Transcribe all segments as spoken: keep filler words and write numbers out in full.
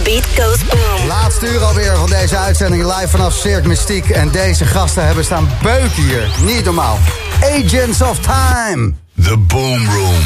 beat goes boom. Laatste uur alweer van deze uitzending live vanaf Cirque Mystique. En deze gasten hebben staan beuken hier. Niet normaal. Agents of Time. The Boom Room.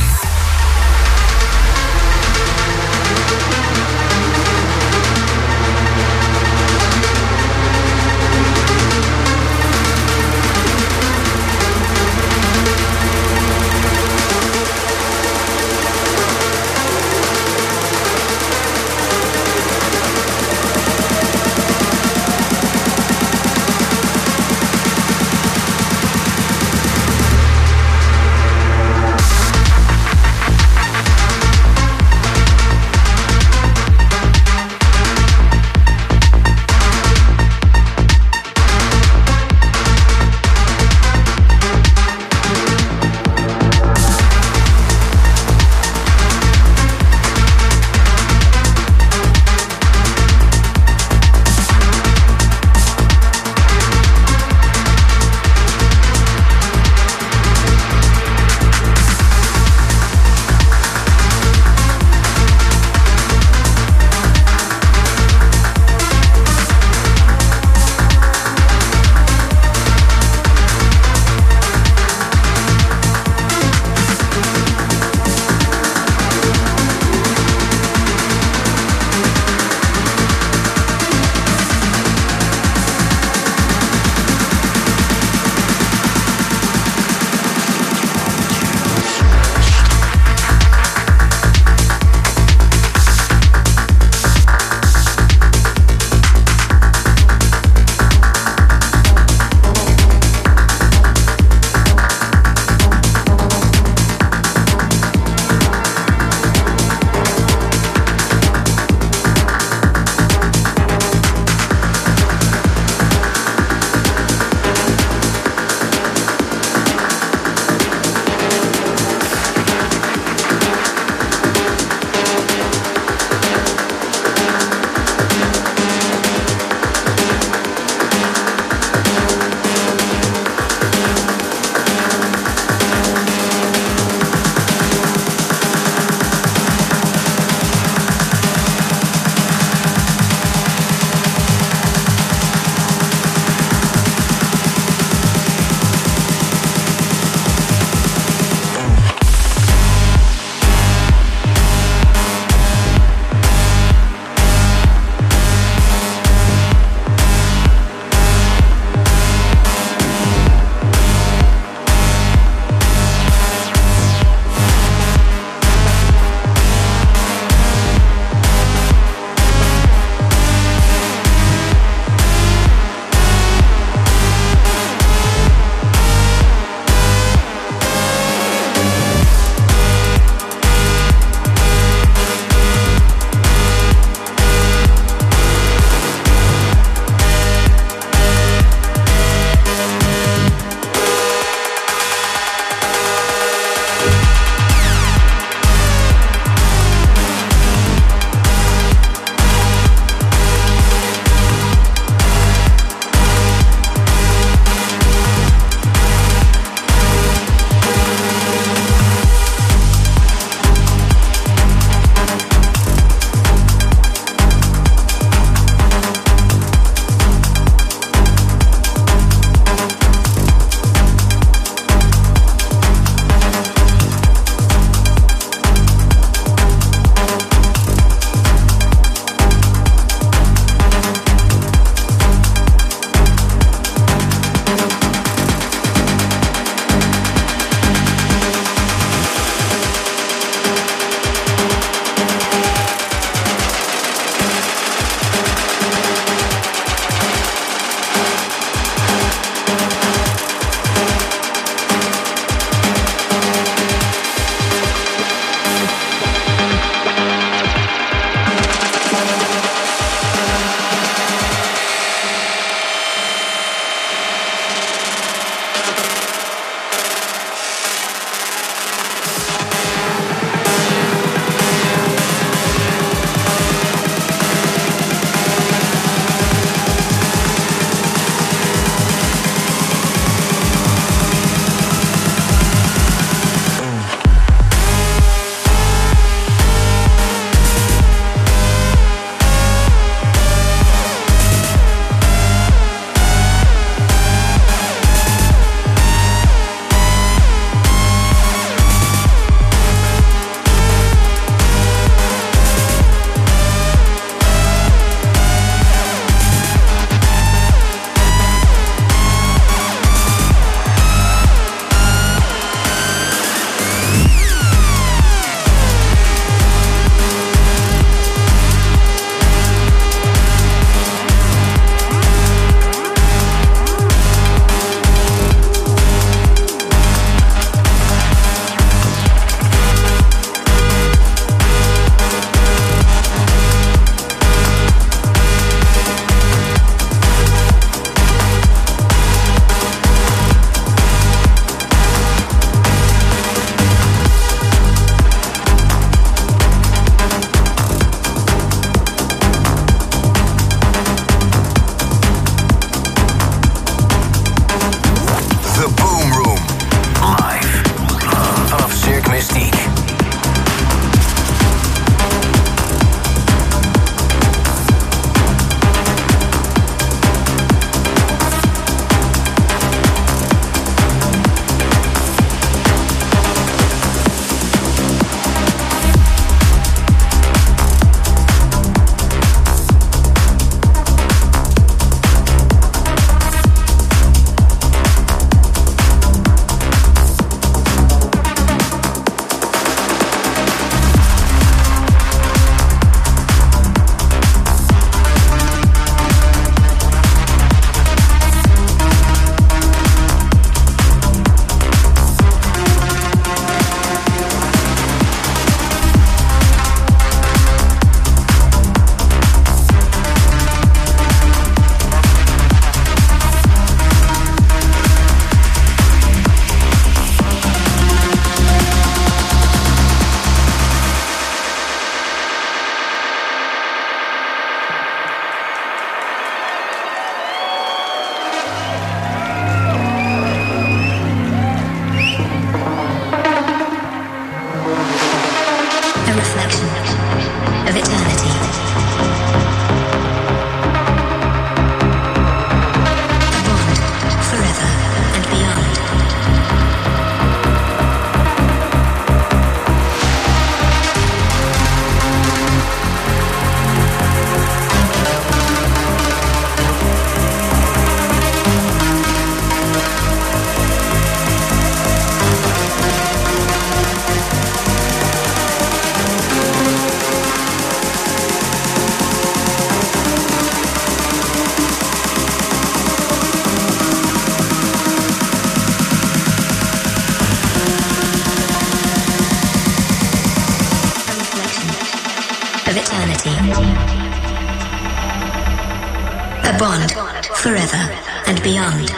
forever and beyond.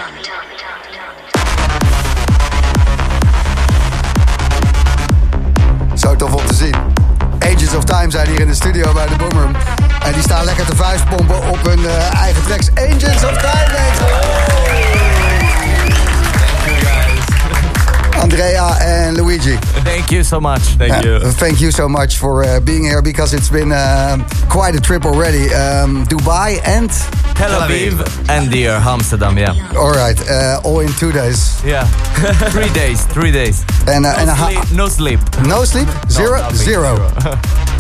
Zo tof om te zien. Agents of Time zijn hier in de studio bij de Boomroom. En die staan lekker te vuistpompen op hun uh, eigen tracks. Agents of Time, mensen. Andrea and Luigi. Thank you so much. Thank uh, you. Thank you so much for uh, being here, because it's been uh, quite a trip already. Um, Dubai and Tel Aviv and dear Amsterdam, yeah. All right, uh, all in two days. Yeah, three days, three days. And, uh, no, and sleep, ha- no sleep. No sleep? Zero? No, Zero. zero.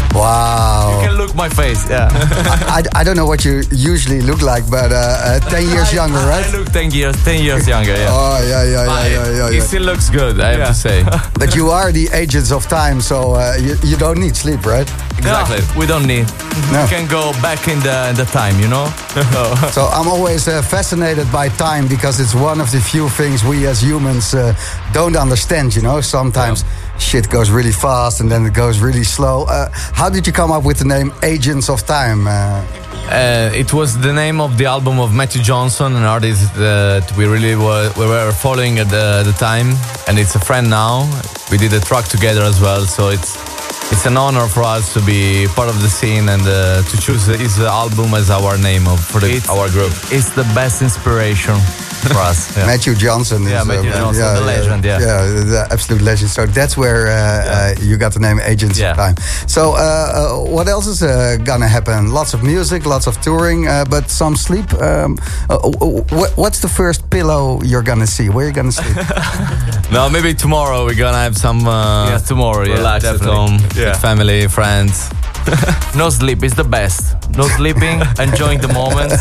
Wow. You can look my face, yeah. I, I, I don't know what you usually look like, but uh, uh, ten years I, younger, right? I look ten years, ten years younger, yeah. Oh, yeah, yeah, yeah, yeah, yeah, He yeah. still looks good, I have Yeah. to say. But you are the agents of time, so uh, you, you don't need sleep, right? Exactly. No, we don't need. No. We can go back in the in the time, you know. So I'm always uh, fascinated by time, because it's one of the few things we as humans uh, don't understand, you know. Sometimes shit goes really fast and then it goes really slow. Uh, how did you come up with the name Agents of Time? Uh, Uh, it was the name of the album of Matthew Johnson, an artist that we really were, we were following at the, at the time, and it's a friend now. We did a track together as well, so it's it's an honor for us to be part of the scene and uh, to choose his album as our name of, for the, It's- our group. It's the best inspiration for us. Yeah. Matthew Johnson. Yeah, is, Matthew uh, Johnson, the legend, yeah. Yeah, the absolute legend. So that's where uh, uh, you got the name Agents Yeah. of Time. So uh, uh, what else is uh, gonna happen? Lots of music, lots of touring, uh, but some sleep. Um, uh, wh- what's the first pillow you're gonna see? Where you gonna sleep? No, maybe tomorrow we're gonna have some uh, Yeah, tomorrow, yeah, relax at definitely. home Yeah. with family, friends. No sleep is the best. No sleeping, enjoying the moment,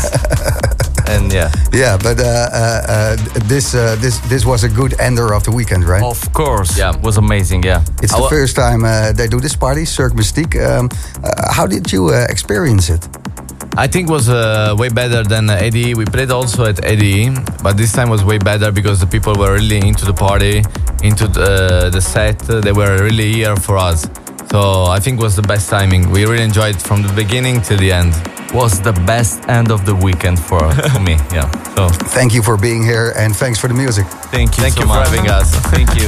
and yeah. Yeah, but uh, uh, uh, this uh, this this was a good ender of the weekend, right? Of course, Yeah. it was amazing. Yeah, It's the Our- first time uh, they do this party, Cirque Mystique. Um, uh, how did you uh, experience it? I think was uh, way better than uh, Eddie. We played also at Eddie, but this time was way better because the people were really into the party, into the, the set. They were really here for us. So I think was the best timing. We really enjoyed it from the beginning till the end. was the best end of the weekend for, for me. Yeah. So Thank you for being here, and thanks for the music. thank you. Thank so you for much. having us. Thank you.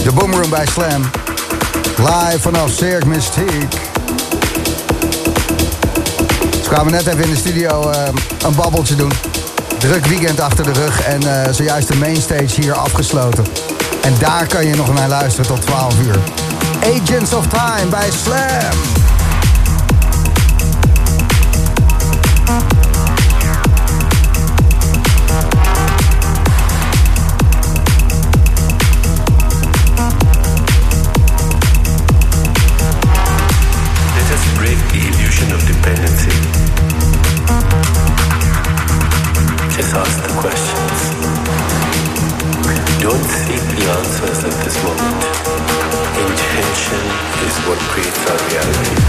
De Boomroom bij Slam. Live vanaf Cirque Mystique. Ze kwamen net even in de studio uh, een babbeltje doen. Druk weekend achter de rug en uh, zojuist de mainstage hier afgesloten. En daar kan je nog naar luisteren tot twaalf uur. Agents of Time bij Slam. Just ask the questions. Don't seek the answers at this moment. Intention is what creates our reality.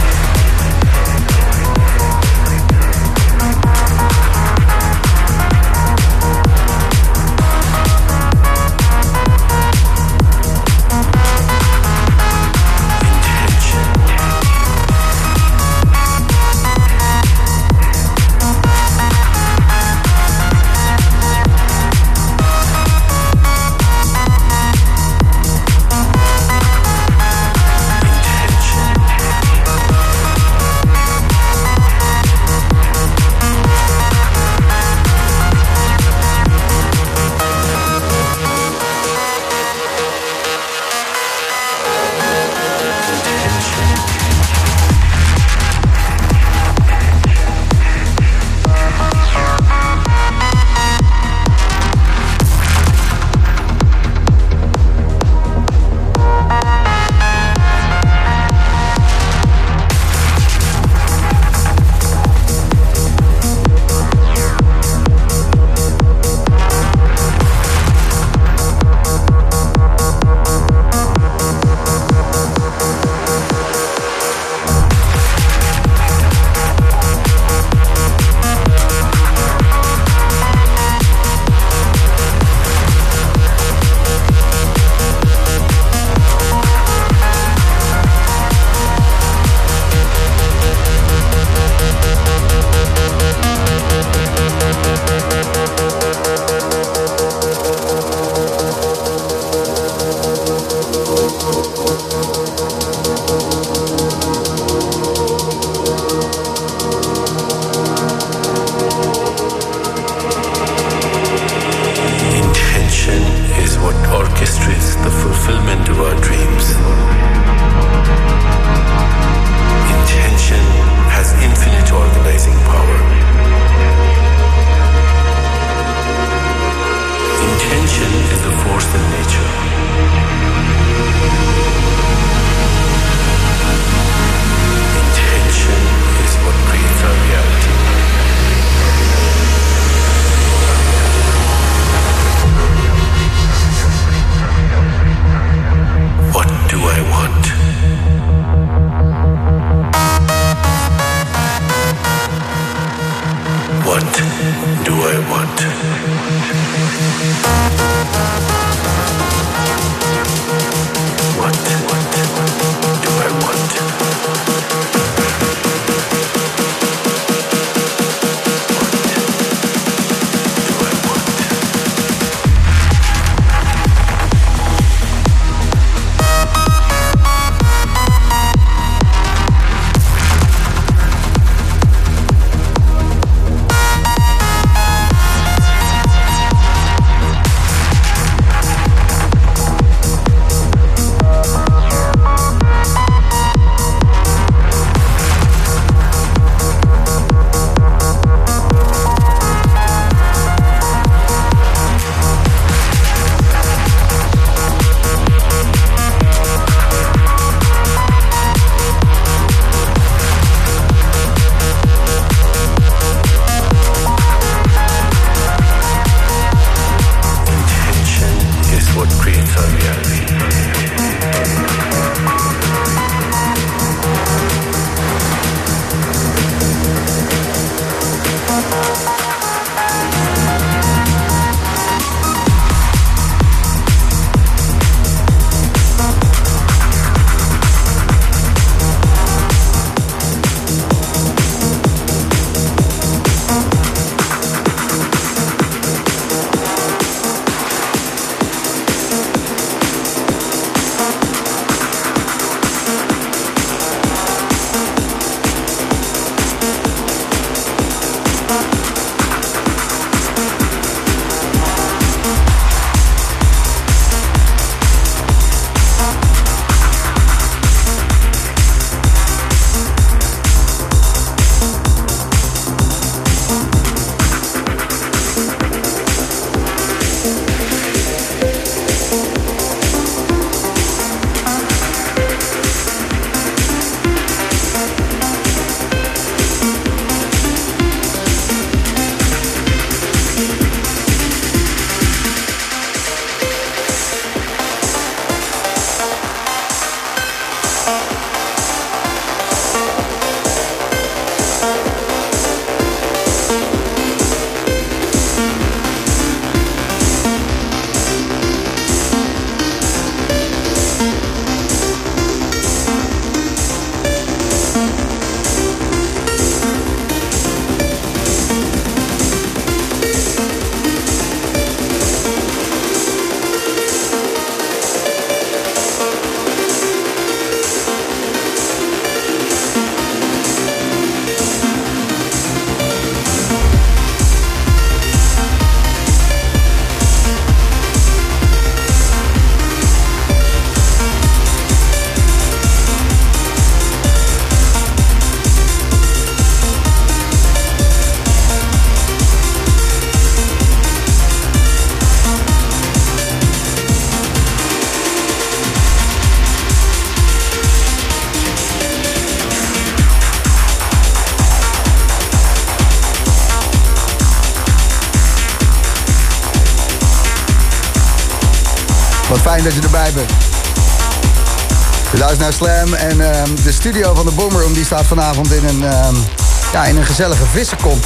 Wat fijn dat je erbij bent. Je luistert naar Slam en uh, de studio van de Boomroom die staat vanavond in een, uh, ja, in een gezellige vissenkop.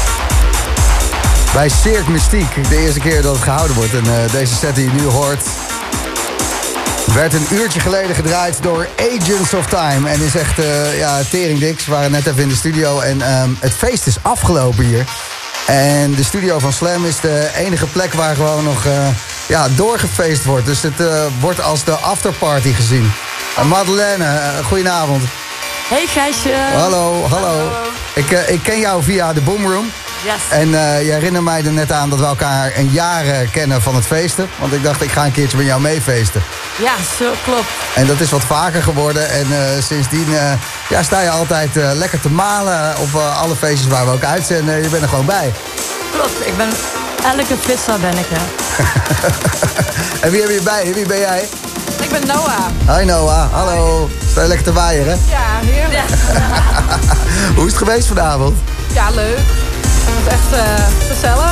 Bij Cirque Mystique, de eerste keer dat het gehouden wordt. En uh, deze set die je nu hoort werd een uurtje geleden gedraaid door Agents of Time. En is echt, uh, ja, teringdiks. We waren net even in de studio en um, het feest is afgelopen hier. En de studio van Slam is de enige plek waar gewoon nog uh, ja, doorgefeest wordt. Dus het uh, wordt als de afterparty gezien. Uh, Madeleine, uh, goedenavond. Hey Gijsje. Hallo, hallo. hallo. Ik, uh, ik ken jou via de Boomroom. Yes. En uh, je herinnert mij er net aan dat we elkaar een jaar uh, kennen van het feesten. Want ik dacht, ik ga een keertje met jou meefeesten. Ja, zo klopt. En dat is wat vaker geworden. En uh, sindsdien uh, ja, sta je altijd uh, lekker te malen op uh, alle feestjes waar we ook uitzenden. Je bent er gewoon bij. Klopt, ik ben elke vissa ben ik, hè. En wie heb je bij? Wie ben jij? Ik ben Noah. Hi Noah, hallo. Sta je lekker te waaien, hè? Ja, heerlijk. Hoe is het geweest vanavond? Ja, leuk. Het was echt uh, gezellig.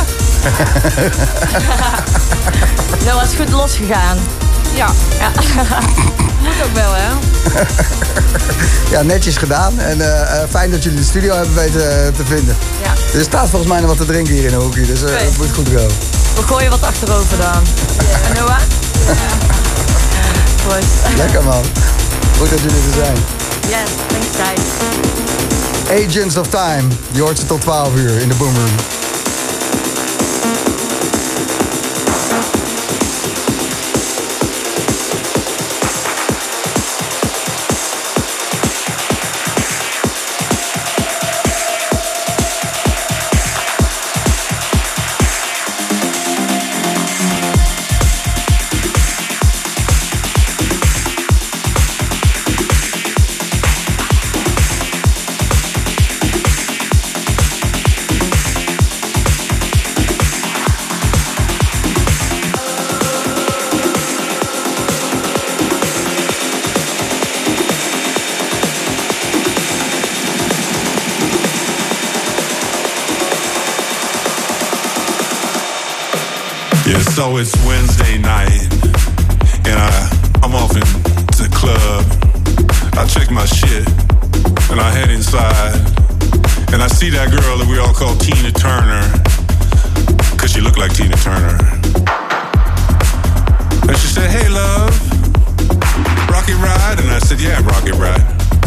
Noah is goed losgegaan. Ja. ja. Moet ook wel, hè? Ja, netjes gedaan. En uh, uh, fijn dat jullie de studio hebben weten uh, te vinden. Ja. Er staat volgens mij nog wat te drinken hier in de hoekje. Dus uh, okay. Het moet goed komen. We gooien wat achterover dan. Yeah. En Noah? Ja. Proost. Lekker man. Goed dat jullie er zijn. Yes, thanks guys. Agents of Time. Je hoort ze tot twaalf uur in de Boomroom. So it's Wednesday night, and I, I'm off into the club. I check my shit, and I head inside, and I see that girl that we all call Tina Turner, cause she looked like Tina Turner. And she said, hey love, rocket ride? And I said, yeah, rocket ride.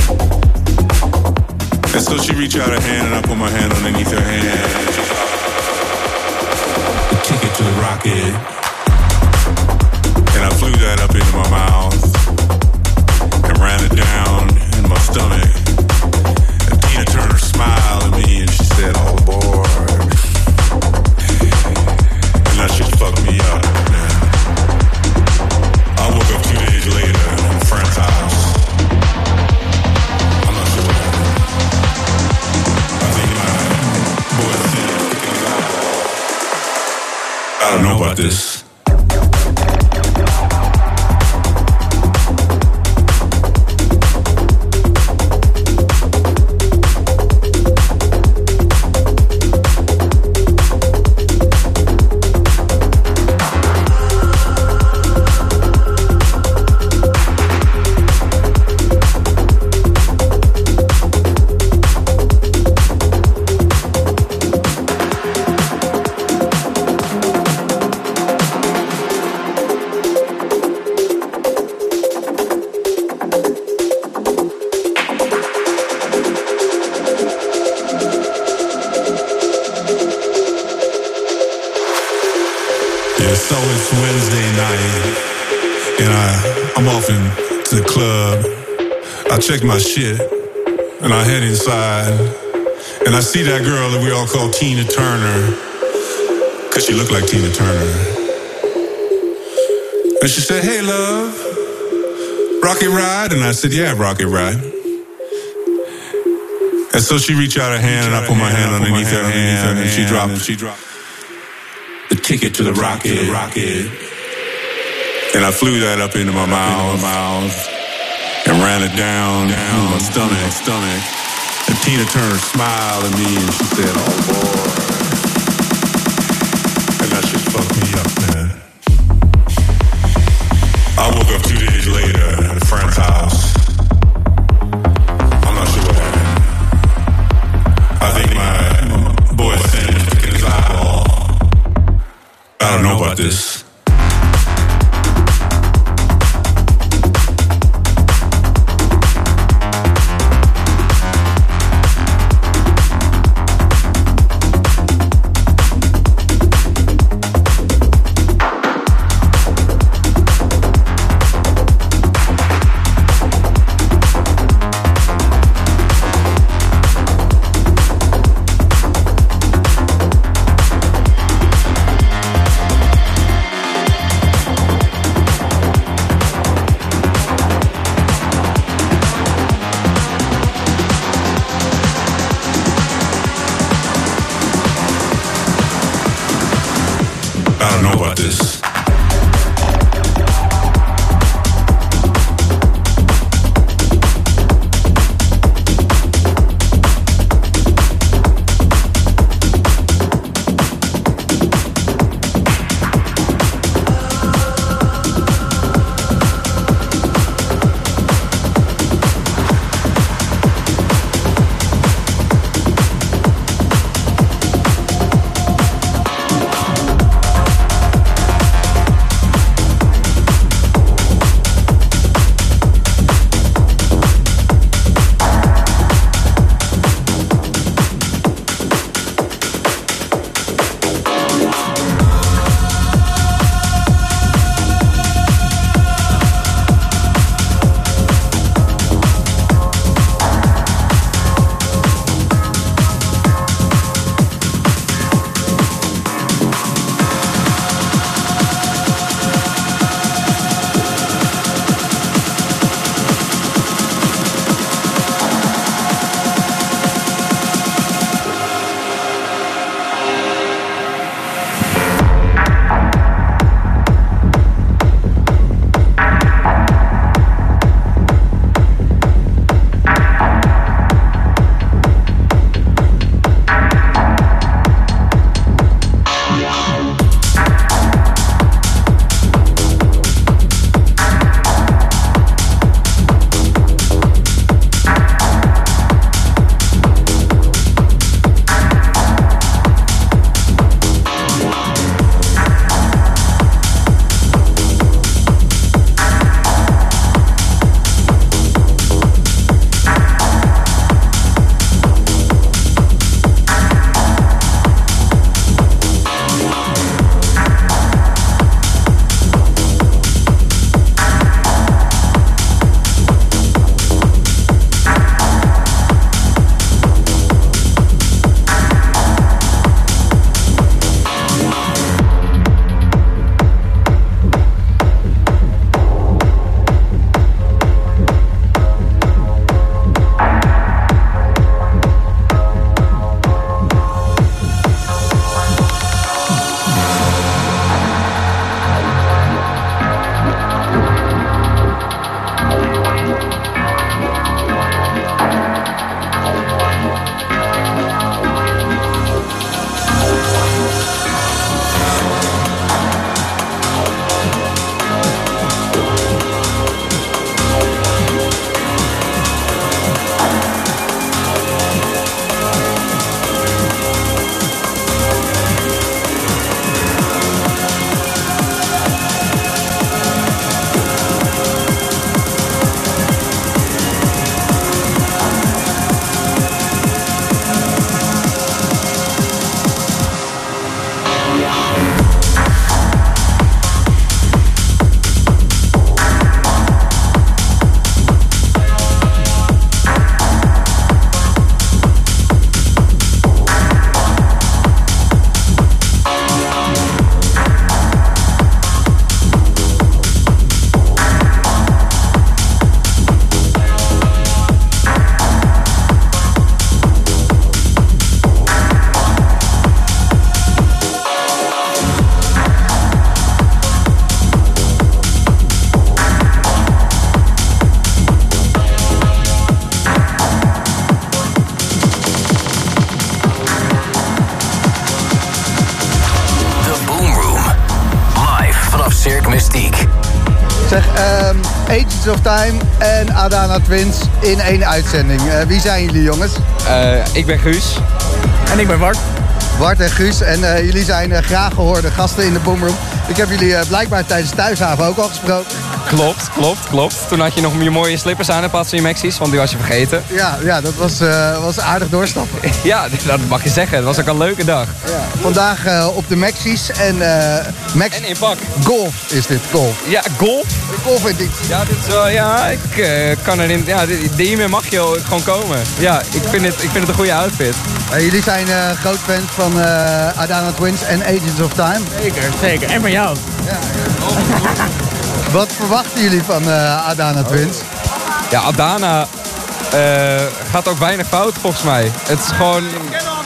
And so she reached out her hand, and I put my hand underneath her hand. Ticket to the rocket. And I flew that up into my mouth and ran it down in my stomach. And Tina Turner smiled at me and she said, all aboard. And that shit fucked me up, man. I woke up two days later in a friend's house. I'm not sure what happened. I think my boy Tina kicking me out. I don't know about this. I check my shit, and I head inside, and I see that girl that we all call Tina Turner, cause she looked like Tina Turner. And she said, hey love, rocket ride? And I said, yeah, rocket ride. And so she reached out her hand, and I put my hand underneath her hand, and she dropped, she dropped the ticket to the rocket, rocket. And I flew that up into my mouth. And ran it down, down in my stomach, stomach. And Tina Turner smiled at me and she said, oh boy. And that shit fucked me up, man. about this. Zeg, um, Agents of Time en Adana Twins in één uitzending. Uh, wie zijn jullie, jongens? Uh, ik ben Guus. En ik ben Bart. Bart en Guus. En uh, jullie zijn uh, graag gehoorde gasten in de Boomroom. Ik heb jullie uh, blijkbaar tijdens Thuishaven ook al gesproken. Klopt, klopt, klopt. Toen had je nog je mooie slippers aan in plaats van je Maxies, want die was je vergeten. Ja, ja dat was, uh, was aardig doorstappen. Ja, dat mag je zeggen. Het was ook een leuke dag. Ja. Vandaag uh, op de Maxies en... Uh, Max... En in pak. Golf is dit, golf. Ja, golf? Golf in dit. Ja, dit is wel, ja, ik uh, kan erin... Ja, hiermee mag je gewoon komen. Ja, ik vind het, ik vind het een goede outfit. Uh, jullie zijn uh, groot fans van uh, Adana Twins en Agents of Time. Zeker, zeker. En van jou. Ja, ja. Wat verwachten jullie van uh, Adana Twins? Ja, Adana uh, gaat ook weinig fout volgens mij. Het is gewoon...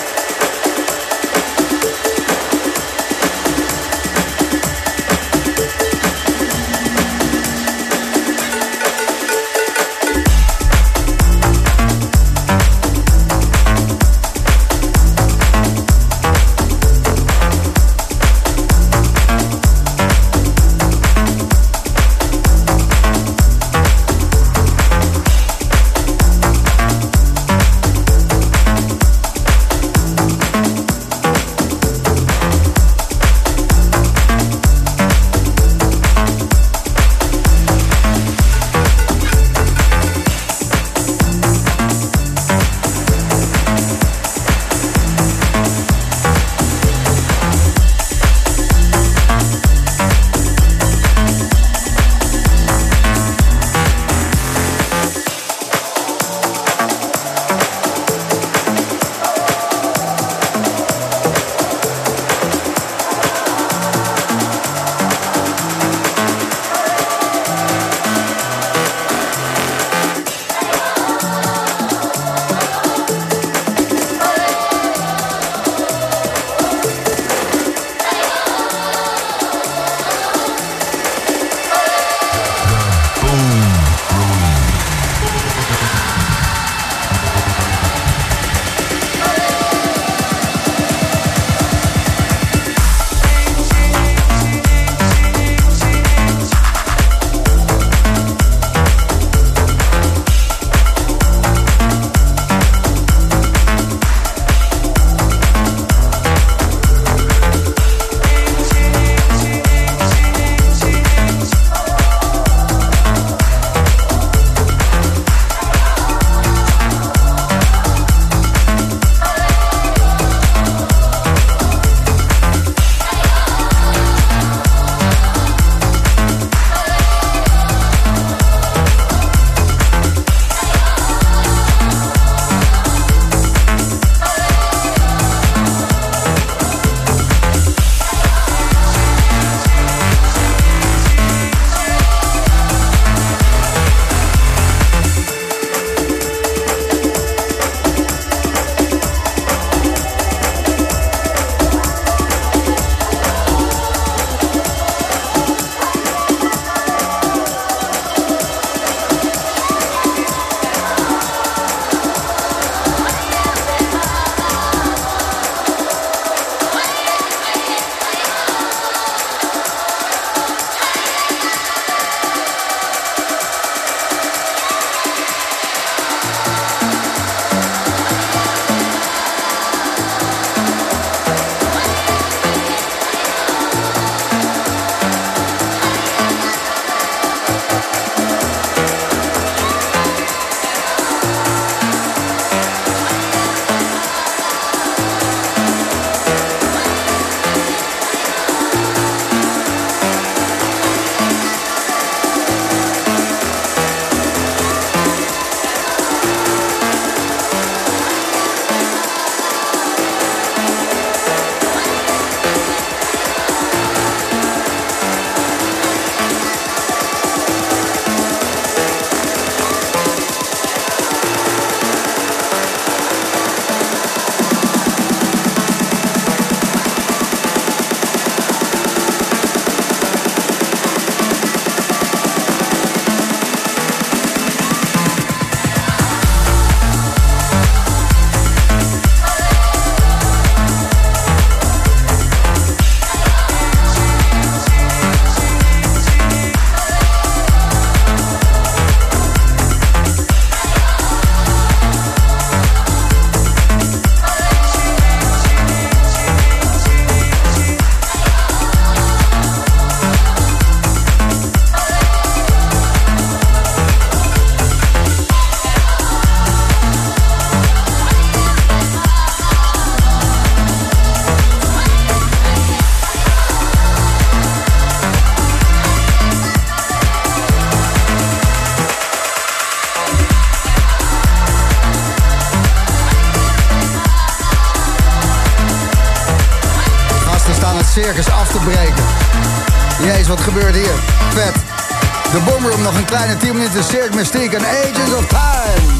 circus af te breken. Jezus, wat gebeurt hier? Vet. De Boomroom, nog een kleine tien minuten. Cirque Mystique en Agents of Time.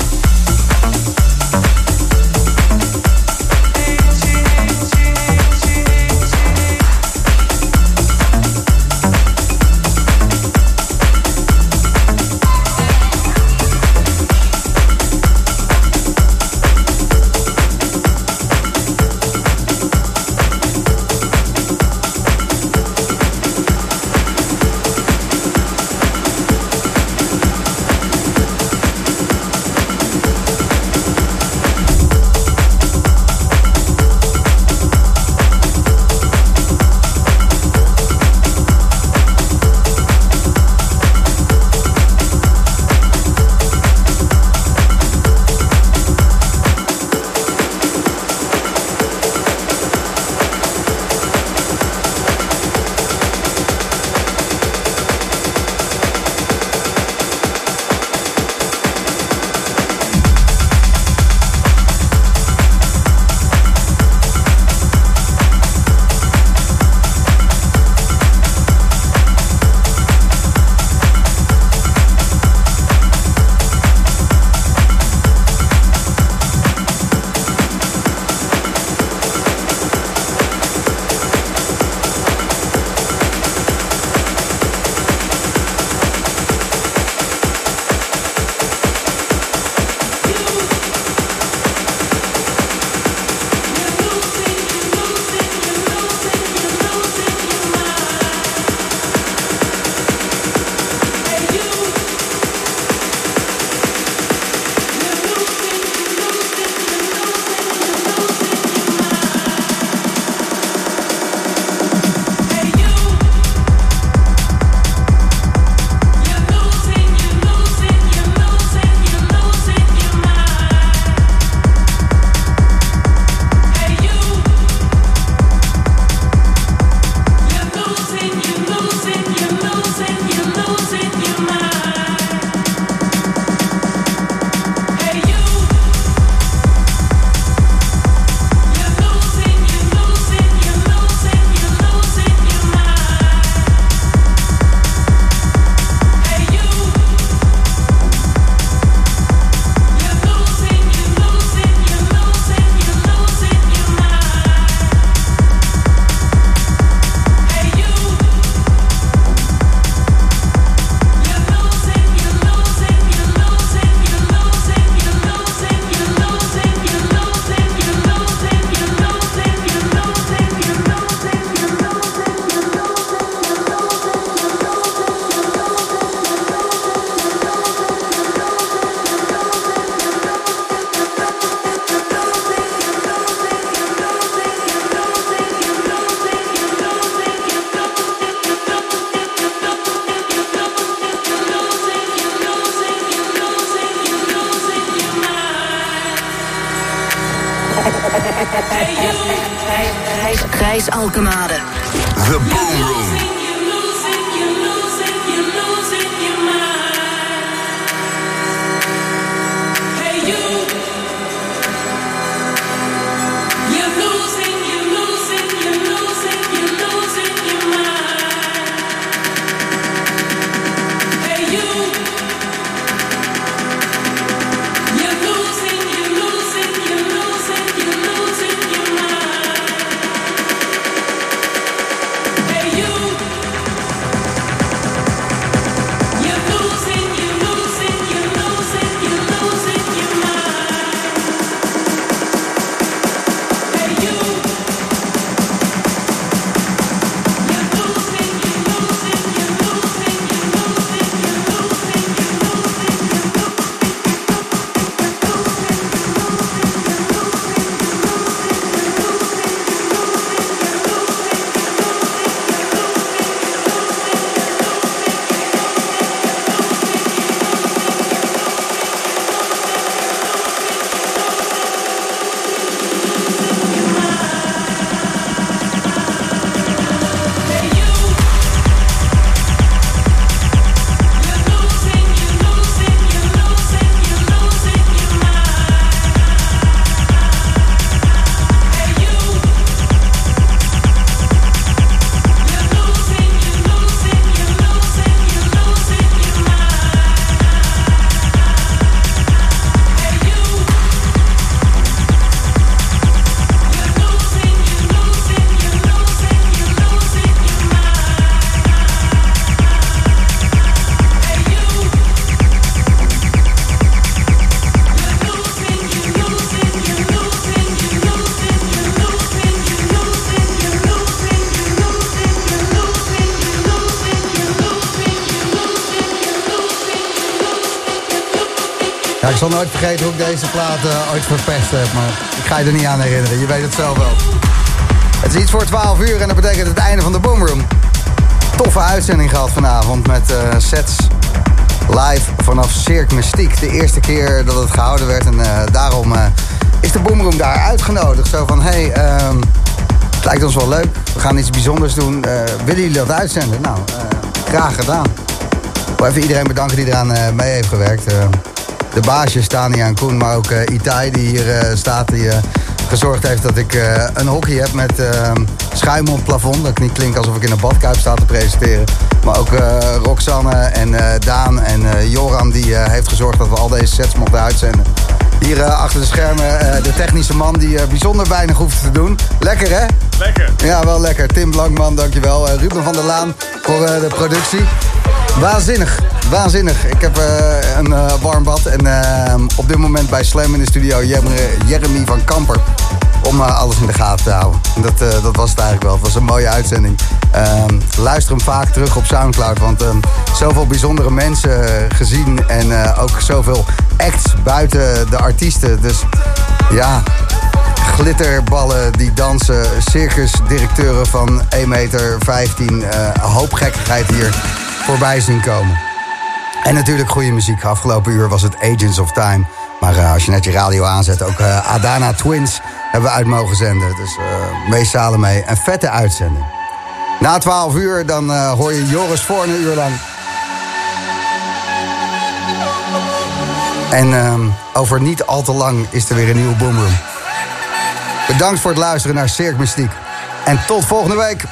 Gijs Alkemade. The Boom Room. You zal nooit vergeten hoe ik deze plaat uh, ooit verpest heb. Maar ik ga je er niet aan herinneren. Je weet het zelf wel. Het is iets voor twaalf uur en dat betekent het einde van de Boomroom. Toffe uitzending gehad vanavond met uh, sets live vanaf Cirque Mystique. De eerste keer dat het gehouden werd en uh, daarom uh, is de Boomroom daar uitgenodigd. Zo van, hé, hey, uh, het lijkt ons wel leuk. We gaan iets bijzonders doen. Uh, willen jullie dat uitzenden? Nou, uh, graag gedaan. Ik wil even iedereen bedanken die eraan uh, mee heeft gewerkt. Uh, de baasjes Tania en Koen, maar ook uh, Itai die hier uh, staat. Die uh, gezorgd heeft dat ik uh, een hockey heb met uh, schuim op het plafond. Dat ik niet klink alsof ik in een badkuip sta te presenteren. Maar ook uh, Roxanne en uh, Daan en uh, Joran die uh, heeft gezorgd dat we al deze sets mochten uitzenden. Hier uh, achter de schermen uh, de technische man die uh, bijzonder weinig hoeft te doen. Lekker hè? Lekker. Ja, wel lekker. Tim Blankman, dankjewel. Uh, Ruben van der Laan voor uh, de productie. Waanzinnig, waanzinnig. Ik heb uh, een uh, warm bad en uh, op dit moment bij Slam in de studio Jeremy van Kamper. Om uh, alles in de gaten te houden. Dat, uh, dat was het eigenlijk wel. Het was een mooie uitzending. Uh, luister hem vaak terug op Soundcloud. Want uh, zoveel bijzondere mensen gezien. En uh, ook zoveel acts buiten de artiesten. Dus ja, glitterballen die dansen. Circusdirecteuren van één meter vijftien. Uh, een hoop gekkigheid hier voorbij zien komen. En natuurlijk goede muziek. Afgelopen uur was het Agents of Time. Maar uh, als je net je radio aanzet, ook uh, Adana Twins hebben we uit mogen zenden. Dus uh, mee Salome. Een vette uitzending. Na twaalf uur dan uh, hoor je Joris voor een uur lang. En uh, over niet al te lang is er weer een nieuwe Boomroom. Bedankt voor het luisteren naar Cirque Mystique. En tot volgende week.